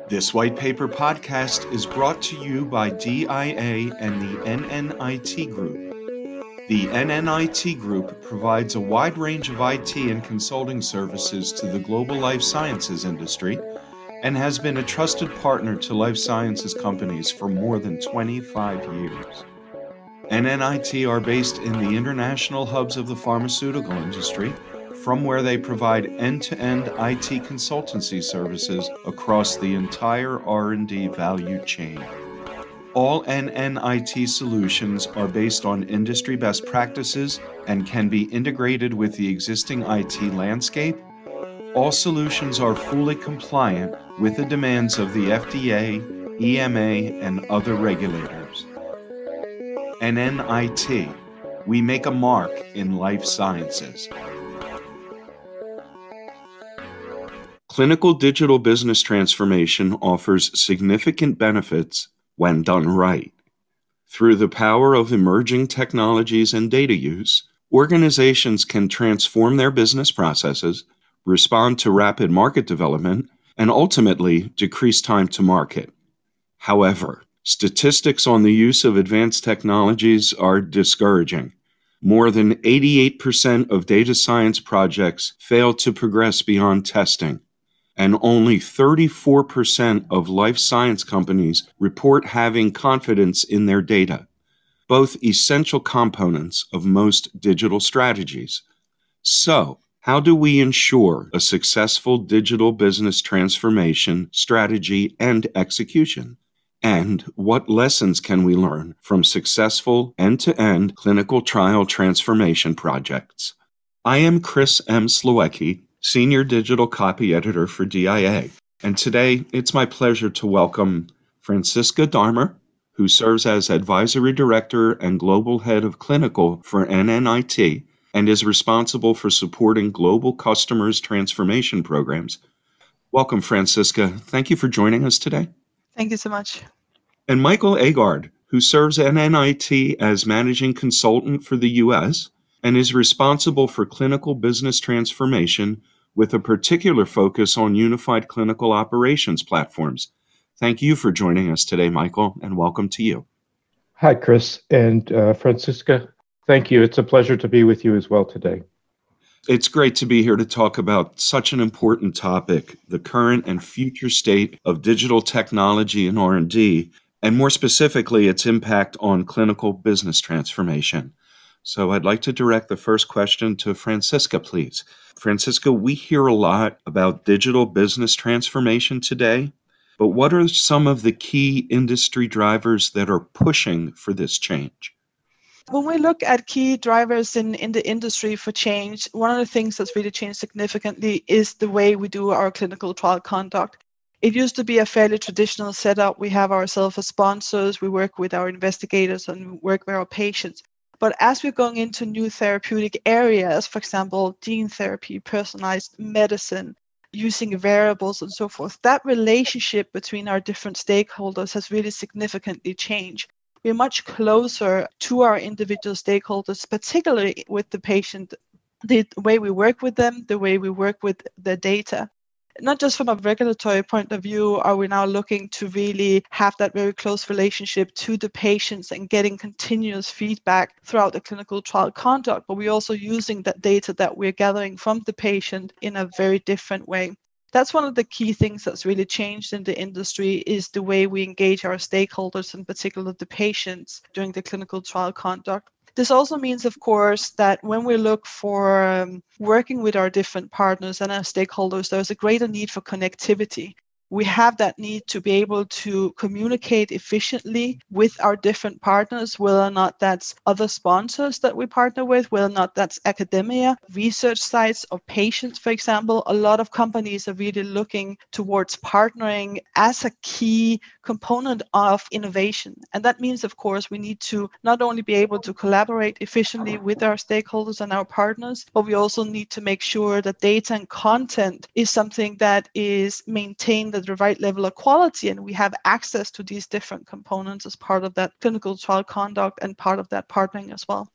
This white paper podcast is brought to you by DIA and the NNIT Group. The NNIT Group provides a wide range of IT and consulting services to the global life sciences industry and has been a trusted partner to life sciences companies for more than 25 years. NNIT are based in the international hubs of the pharmaceutical industry, from where they provide end-to-end IT consultancy services across the entire R&D value chain. All NNIT solutions are based on industry best practices and can be integrated with the existing IT landscape. All solutions are fully compliant with the demands of the FDA, EMA, and other regulators. NNIT, we make a mark in life sciences. Clinical digital business transformation offers significant benefits when done right. Through the power of emerging technologies and data use, organizations can transform their business processes, respond to rapid market development, and ultimately decrease time to market. However, statistics on the use of advanced technologies are discouraging. More than 88% of data science projects fail to progress beyond testing, and only 34% of life science companies report having confidence in their data, both essential components of most digital strategies. So, how do we ensure a successful digital business transformation strategy and execution? And what lessons can we learn from successful end-to-end clinical trial transformation projects? I am Chris M. Slowecki, Senior Digital Copy Editor for DIA, and today it's my pleasure to welcome Franziska Darmer, who serves as Advisory Director and Global Head of Clinical for NNIT and is responsible for supporting global customers' transformation programs. Welcome, Franziska. Thank you for joining us today. Thank you so much. And Michael Agard, who serves NNIT as Managing Consultant for the U.S., and is responsible for clinical business transformation with a particular focus on unified clinical operations platforms. Thank you for joining us today, Michael, and welcome to you. Hi, Chris and Franziska. Thank you. It's a pleasure to be with you as well today. It's great to be here to talk about such an important topic, the current and future state of digital technology and R&D, and more specifically, its impact on clinical business transformation. So I'd like to direct the first question to Franziska, please. Franziska, we hear a lot about digital business transformation today, but what are some of the key industry drivers that are pushing for this change? When we look at key drivers in the industry for change, one of the things that's really changed significantly is the way we do our clinical trial conduct. It used to be a fairly traditional setup. We have ourselves as sponsors, we work with our investigators, and we work with our patients. But as we're going into new therapeutic areas, for example, gene therapy, personalized medicine, using variables and so forth, that relationship between our different stakeholders has really significantly changed. We're much closer to our individual stakeholders, particularly with the patient, the way we work with them, the way we work with the data. Not just from a regulatory point of view are we now looking to really have that very close relationship to the patients and getting continuous feedback throughout the clinical trial conduct, but we're also using that data that we're gathering from the patient in a very different way. That's one of the key things that's really changed in the industry is the way we engage our stakeholders, in particular the patients, during the clinical trial conduct. This also means, of course, that when we look for working with our different partners and our stakeholders, there's a greater need for connectivity. We have that need to be able to communicate efficiently with our different partners, whether or not that's other sponsors that we partner with, whether or not that's academia, research sites, or patients, for example. A lot of companies are really looking towards partnering as a key component of innovation. And that means, of course, we need to not only be able to collaborate efficiently with our stakeholders and our partners, but we also need to make sure that data and content is something that is maintained at the right level of quality, and we have access to these different components as part of that clinical trial conduct and part of that partnering as well.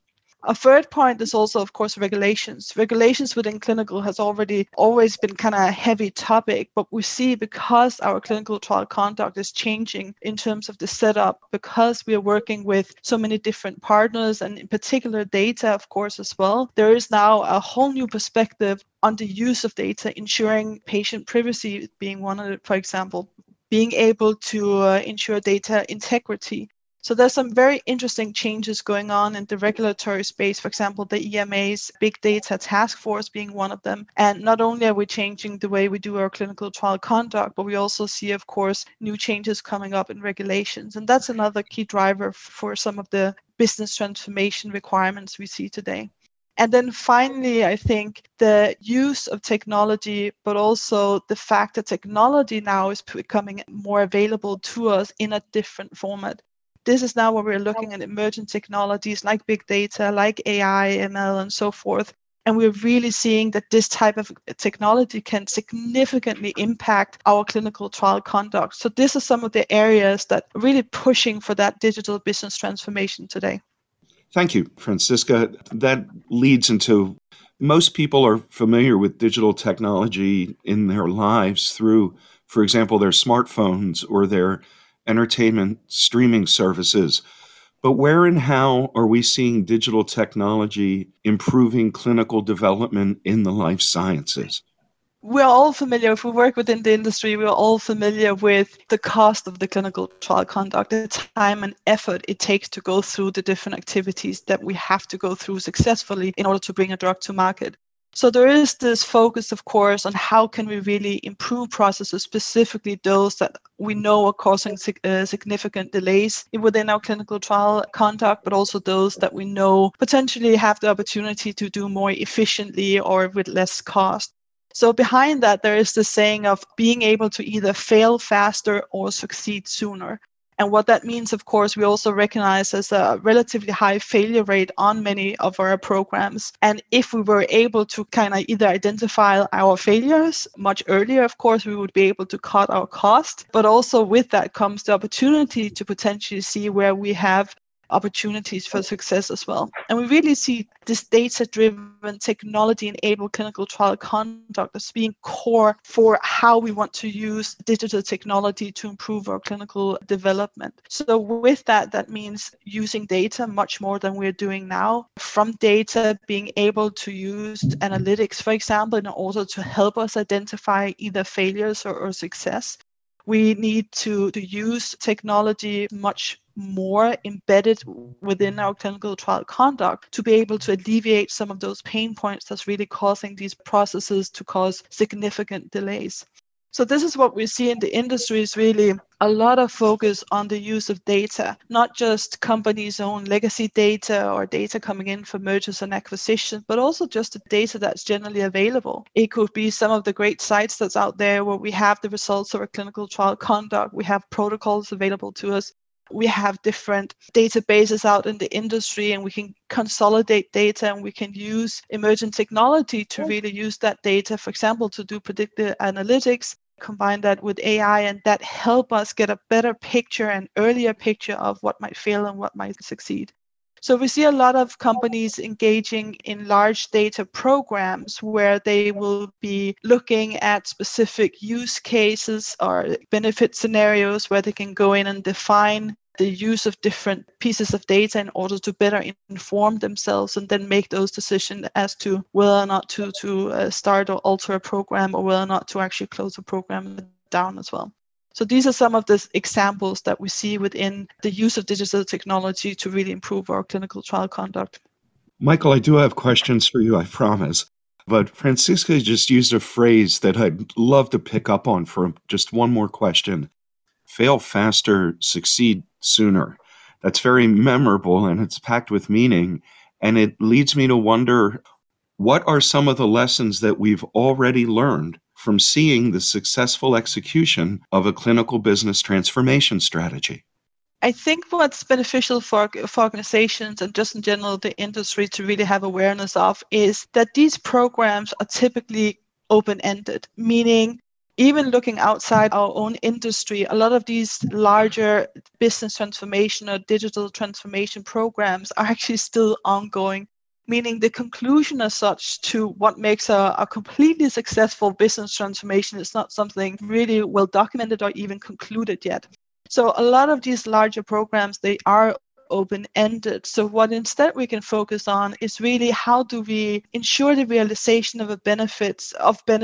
A third point is also, of course, regulations. Regulations within clinical has already always been kind of a heavy topic, but we see because our clinical trial conduct is changing in terms of the setup, because we are working with so many different partners and in particular data, of course, as well, there is now a whole new perspective on the use of data, ensuring patient privacy being one of it, for example, being able to ensure data integrity. So there's some very interesting changes going on in the regulatory space. For example, the EMA's Big Data Task Force being one of them. And not only are we changing the way we do our clinical trial conduct, but we also see, of course, new changes coming up in regulations. And that's another key driver for some of the business transformation requirements we see today. And then finally, I think the use of technology, but also the fact that technology now is becoming more available to us in a different format. This is now where we're looking at emerging technologies like big data, like AI, ML, and so forth. And we're really seeing that this type of technology can significantly impact our clinical trial conduct. So these are some of the areas that are really pushing for that digital business transformation today. Thank you, Franziska. That leads into most people are familiar with digital technology in their lives through, for example, their smartphones or their entertainment streaming services. But where and how are we seeing digital technology improving clinical development in the life sciences? We're all familiar, if we work within the industry, we're all familiar with the cost of the clinical trial conduct, the time and effort it takes to go through the different activities that we have to go through successfully in order to bring a drug to market. So there is this focus, of course, on how can we really improve processes, specifically those that we know are causing significant delays within our clinical trial conduct, but also those that we know potentially have the opportunity to do more efficiently or with less cost. So behind that, there is the saying of being able to either fail faster or succeed sooner. And what that means, of course, we also recognize as a relatively high failure rate on many of our programs. And if we were able to kind of either identify our failures much earlier, of course, we would be able to cut our cost. But also with that comes the opportunity to potentially see where we have opportunities for success as well. And we really see this data-driven, technology-enabled clinical trial conduct as being core for how we want to use digital technology to improve our clinical development. So with that, that means using data much more than we're doing now. From data, being able to use analytics, for example, in order to help us identify either failures or success. We need to use technology much more embedded within our clinical trial conduct to be able to alleviate some of those pain points that's really causing these processes to cause significant delays. So this is what we see in the industry is really a lot of focus on the use of data, not just companies' own legacy data or data coming in for mergers and acquisitions, but also just the data that's generally available. It could be some of the great sites that's out there where we have the results of our clinical trial conduct, we have protocols available to us. We have different databases out in the industry and we can consolidate data and we can use emerging technology to really use that data, for example, to do predictive analytics, combine that with AI, and that help us get a better picture and earlier picture of what might fail and what might succeed. So we see a lot of companies engaging in large data programs where they will be looking at specific use cases or benefit scenarios where they can go in and define the use of different pieces of data in order to better inform themselves and then make those decisions as to whether or not to start or alter a program or whether or not to actually close a program down as well. So these are some of the examples that we see within the use of digital technology to really improve our clinical trial conduct. Michael, I do have questions for you, I promise. But Franziska just used a phrase that I'd love to pick up on for just one more question. Fail faster, succeed sooner. That's very memorable and it's packed with meaning. And it leads me to wonder, what are some of the lessons that we've already learned from seeing the successful execution of a clinical business transformation strategy? I think what's beneficial for organizations and just in general the industry to really have awareness of is that these programs are typically open-ended, meaning even looking outside our own industry, a lot of these larger business transformation or digital transformation programs are actually still ongoing. meaning the conclusion as such to what makes a completely successful business transformation is not something really well documented or even concluded yet. So a lot of these larger programs, they are open-ended. So what instead we can focus on is really how do we ensure the realization of benefits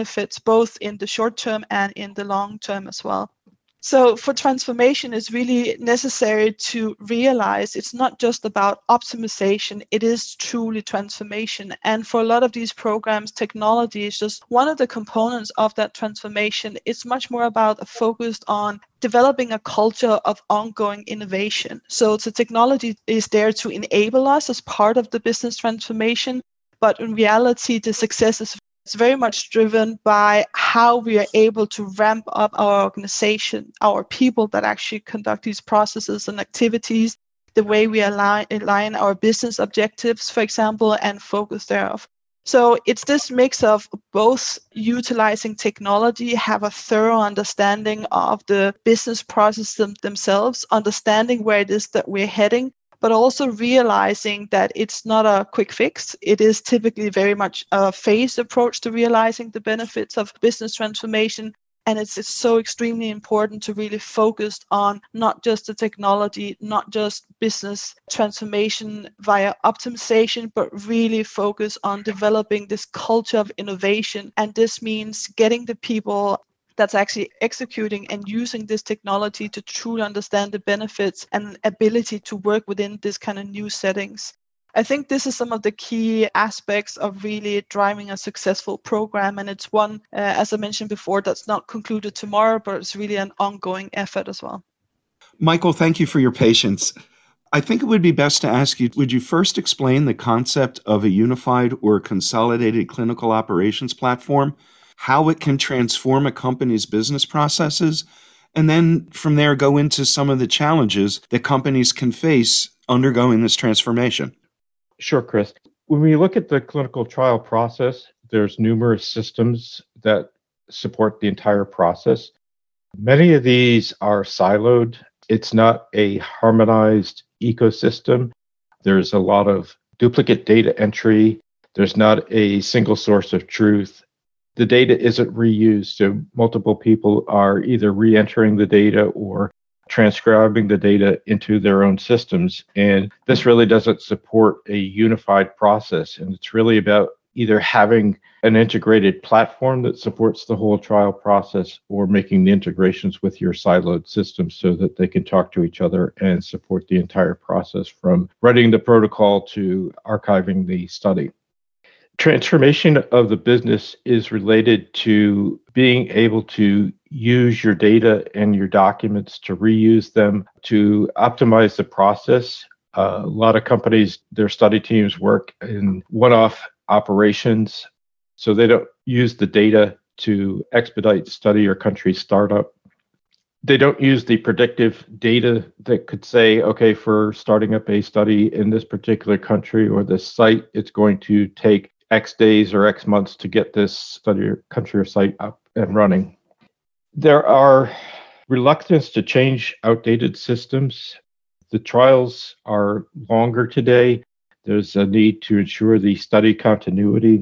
both in the short term and in the long term as well. So for transformation, it's really necessary to realize it's not just about optimization, it is truly transformation. And for a lot of these programs, technology is just one of the components of that transformation. It's much more about a focus on developing a culture of ongoing innovation. So the technology is there to enable us as part of the business transformation, but in reality, the success is it's very much driven by how we are able to ramp up our organization, our people that actually conduct these processes and activities, the way we align our business objectives, for example, and focus thereof. So it's this mix of both utilizing technology, have a thorough understanding of the business processes themselves, understanding where it is that we're heading, but also realizing that it's not a quick fix. It is typically very much a phased approach to realizing the benefits of business transformation. And it's so extremely important to really focus on not just the technology, not just business transformation via optimization, but really focus on developing this culture of innovation. And this means getting the people that's actually executing and using this technology to truly understand the benefits and ability to work within this kind of new settings. I think this is some of the key aspects of really driving a successful program. And it's one, as I mentioned before, that's not concluded tomorrow, but it's really an ongoing effort as well. Michael, thank you for your patience. I think it would be best to ask you, would you first explain the concept of a unified or consolidated clinical operations platform, how it can transform a company's business processes, and then from there go into some of the challenges that companies can face undergoing this transformation? Sure, Chris. When we look at the clinical trial process, there's numerous systems that support the entire process. Many of these are siloed. It's not a harmonized ecosystem. There's a lot of duplicate data entry. There's not a single source of truth. The data isn't reused, so multiple people are either re-entering the data or transcribing the data into their own systems. And this really doesn't support a unified process. And it's really about either having an integrated platform that supports the whole trial process or making the integrations with your siloed systems so that they can talk to each other and support the entire process from writing the protocol to archiving the study. Transformation of the business is related to being able to use your data and your documents to reuse them to optimize the process. A lot of companies, their study teams work in one-off operations, so they don't use the data to expedite study or country startup. They don't use the predictive data that could say, okay, for starting up a study in this particular country or this site, it's going to take X days or X months to get this study or country or site up and running. There are reluctance to change outdated systems. The trials are longer today. There's a need to ensure the study continuity.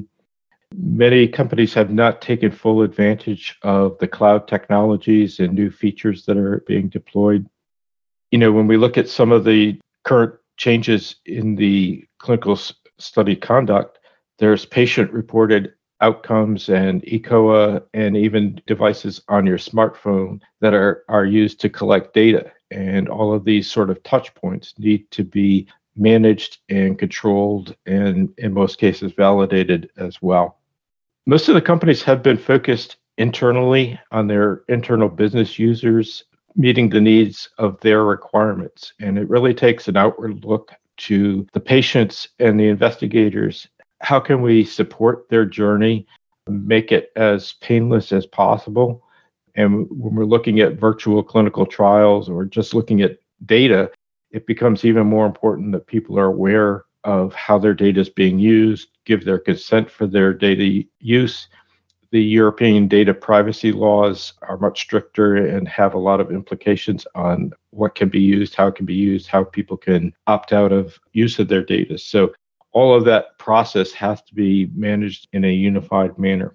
Many companies have not taken full advantage of the cloud technologies and new features that are being deployed. When we look at some of the current changes in the clinical study conduct, there's patient-reported outcomes and eCOA and even devices on your smartphone that are used to collect data. And all of these sort of touch points need to be managed and controlled and in most cases validated as well. Most of the companies have been focused internally on their internal business users, meeting the needs of their requirements. And it really takes an outward look to the patients and the investigators. How can we support their journey, make it as painless as possible? And when we're looking at virtual clinical trials or just looking at data, it becomes even more important that people are aware of how their data is being used, give their consent for their data use. The European data privacy laws are much stricter and have a lot of implications on what can be used, how it can be used, how people can opt out of use of their data. So all of that process has to be managed in a unified manner.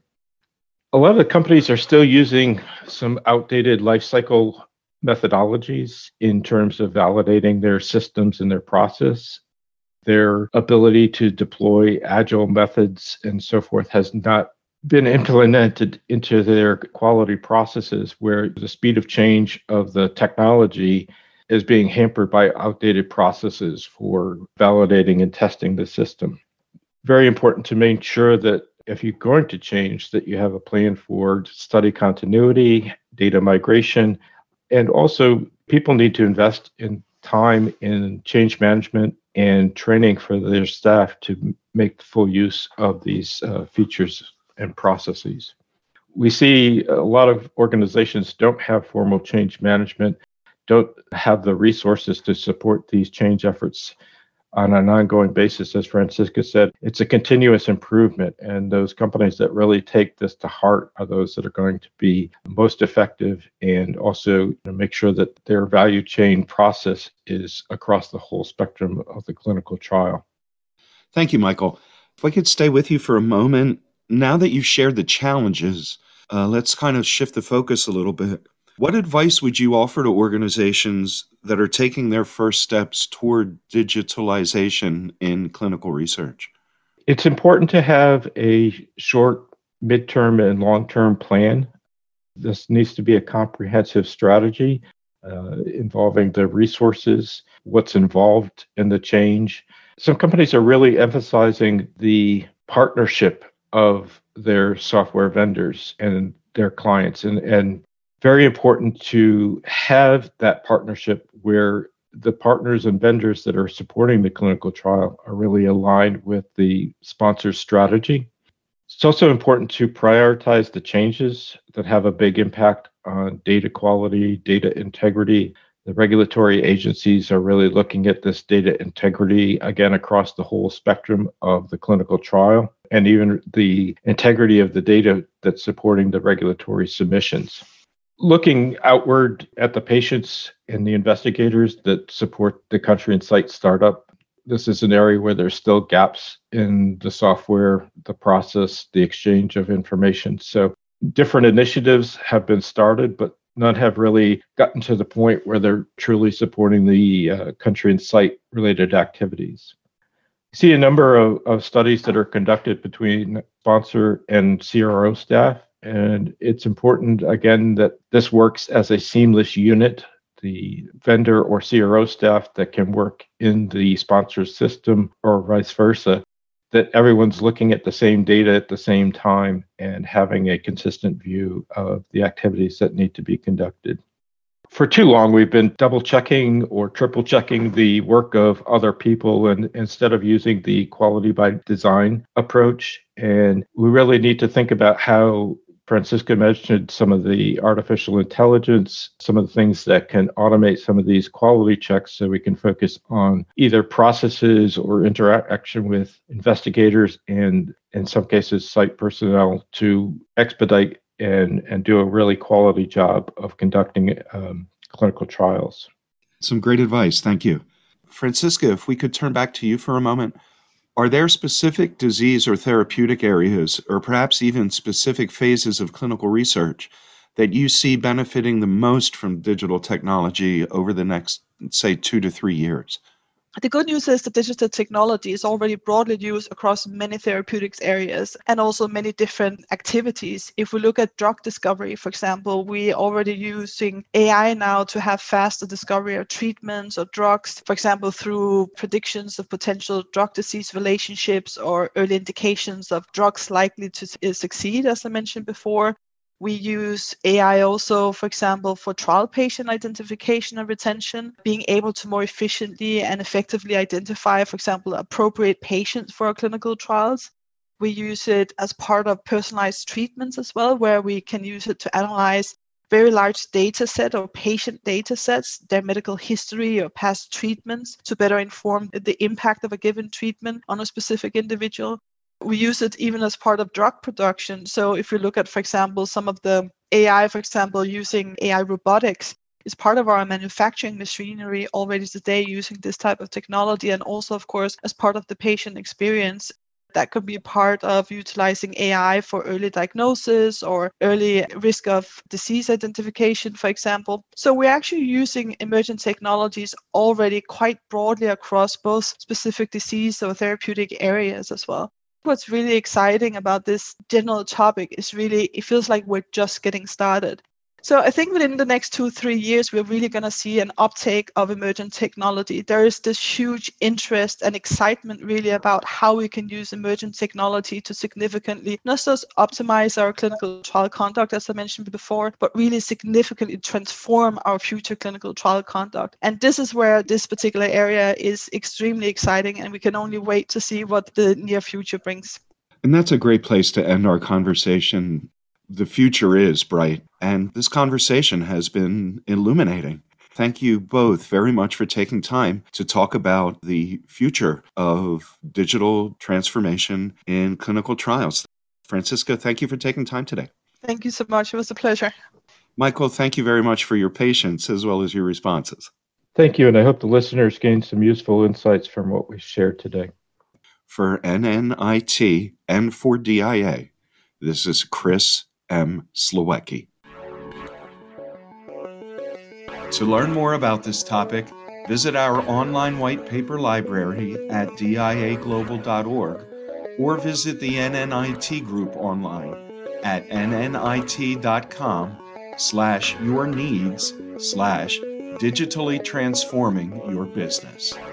A lot of the companies are still using some outdated life cycle methodologies in terms of validating their systems and their process. Their ability to deploy agile methods and so forth has not been implemented into their quality processes, where the speed of change of the technology is being hampered by outdated processes for validating and testing the system. Very important to make sure that if you're going to change, that you have a plan for study continuity, data migration, and also people need to invest in time in change management and training for their staff to make full use of these features and processes. We see a lot of organizations don't have formal change management, don't have the resources to support these change efforts on an ongoing basis. As Franziska said, it's a continuous improvement, and those companies that really take this to heart are those that are going to be most effective, and also make sure that their value chain process is across the whole spectrum of the clinical trial. Thank you, Michael. If I could stay with you for a moment, now that you've shared the challenges, let's kind of shift the focus a little bit. What advice would you offer to organizations that are taking their first steps toward digitalization in clinical research? It's important to have a short, midterm, and long-term plan. This needs to be a comprehensive strategy involving the resources, what's involved in the change. Some companies are really emphasizing the partnership of their software vendors and their clients, and very important to have that partnership where the partners and vendors that are supporting the clinical trial are really aligned with the sponsor's strategy. It's also important to prioritize the changes that have a big impact on data quality, data integrity. The regulatory agencies are really looking at this data integrity, again, across the whole spectrum of the clinical trial, and even the integrity of the data that's supporting the regulatory submissions. Looking outward at the patients and the investigators that support the country and site startup, this is an area where there's still gaps in the software, the process, the exchange of information. So different initiatives have been started, but none have really gotten to the point where they're truly supporting the country and site related activities. You see a number of studies that are conducted between sponsor and CRO staff. And it's important, again, that this works as a seamless unit. The vendor or CRO staff that can work in the sponsor's system or vice versa, that everyone's looking at the same data at the same time and having a consistent view of the activities that need to be conducted. For too long, we've been double checking or triple checking the work of other people, and instead of using the quality by design approach. And we really need to think about how Franziska mentioned some of the artificial intelligence, some of the things that can automate some of these quality checks so we can focus on either processes or interaction with investigators and, in some cases, site personnel to expedite and do a really quality job of conducting clinical trials. Some great advice. Thank you. Franziska, if we could turn back to you for a moment. Are there specific disease or therapeutic areas, or perhaps even specific phases of clinical research that you see benefiting the most from digital technology over the next, say, 2 to 3 years? The good news is that digital technology is already broadly used across many therapeutics areas and also many different activities. If we look at drug discovery, for example, we already using AI now to have faster discovery of treatments or drugs, for example, through predictions of potential drug-disease relationships or early indications of drugs likely to succeed, as I mentioned before. We use AI also, for example, for trial patient identification and retention, being able to more efficiently and effectively identify, for example, appropriate patients for our clinical trials. We use it as part of personalized treatments as well, where we can use it to analyze very large data set or patient data sets, their medical history or past treatments to better inform the impact of a given treatment on a specific individual. We use it even as part of drug production. So if you look at, for example, some of the AI, for example, using AI robotics, is part of our manufacturing machinery already today using this type of technology, and also, of course, as part of the patient experience. That could be part of utilizing AI for early diagnosis or early risk of disease identification, for example. So we're actually using emergent technologies already quite broadly across both specific disease or therapeutic areas as well. What's really exciting about this general topic is really, it feels like we're just getting started. So I think within the next 2-3 years, we're really going to see an uptake of emergent technology. There is this huge interest and excitement really about how we can use emergent technology to significantly not just optimize our clinical trial conduct, as I mentioned before, but really significantly transform our future clinical trial conduct. And this is where this particular area is extremely exciting, and we can only wait to see what the near future brings. And that's a great place to end our conversation. The future is bright, and this conversation has been illuminating. Thank you both very much for taking time to talk about the future of digital transformation in clinical trials. Franziska, thank you for taking time today. Thank you so much. It was a pleasure. Michael, thank you very much for your patience as well as your responses. Thank you, and I hope the listeners gained some useful insights from what we shared today. For NNIT and for DIA, this is Chris M. Slowecki. To learn more about this topic, visit our online white paper library at diaglobal.org or visit the NNIT group online at nnit.com/yourneeds/digitally transforming your business.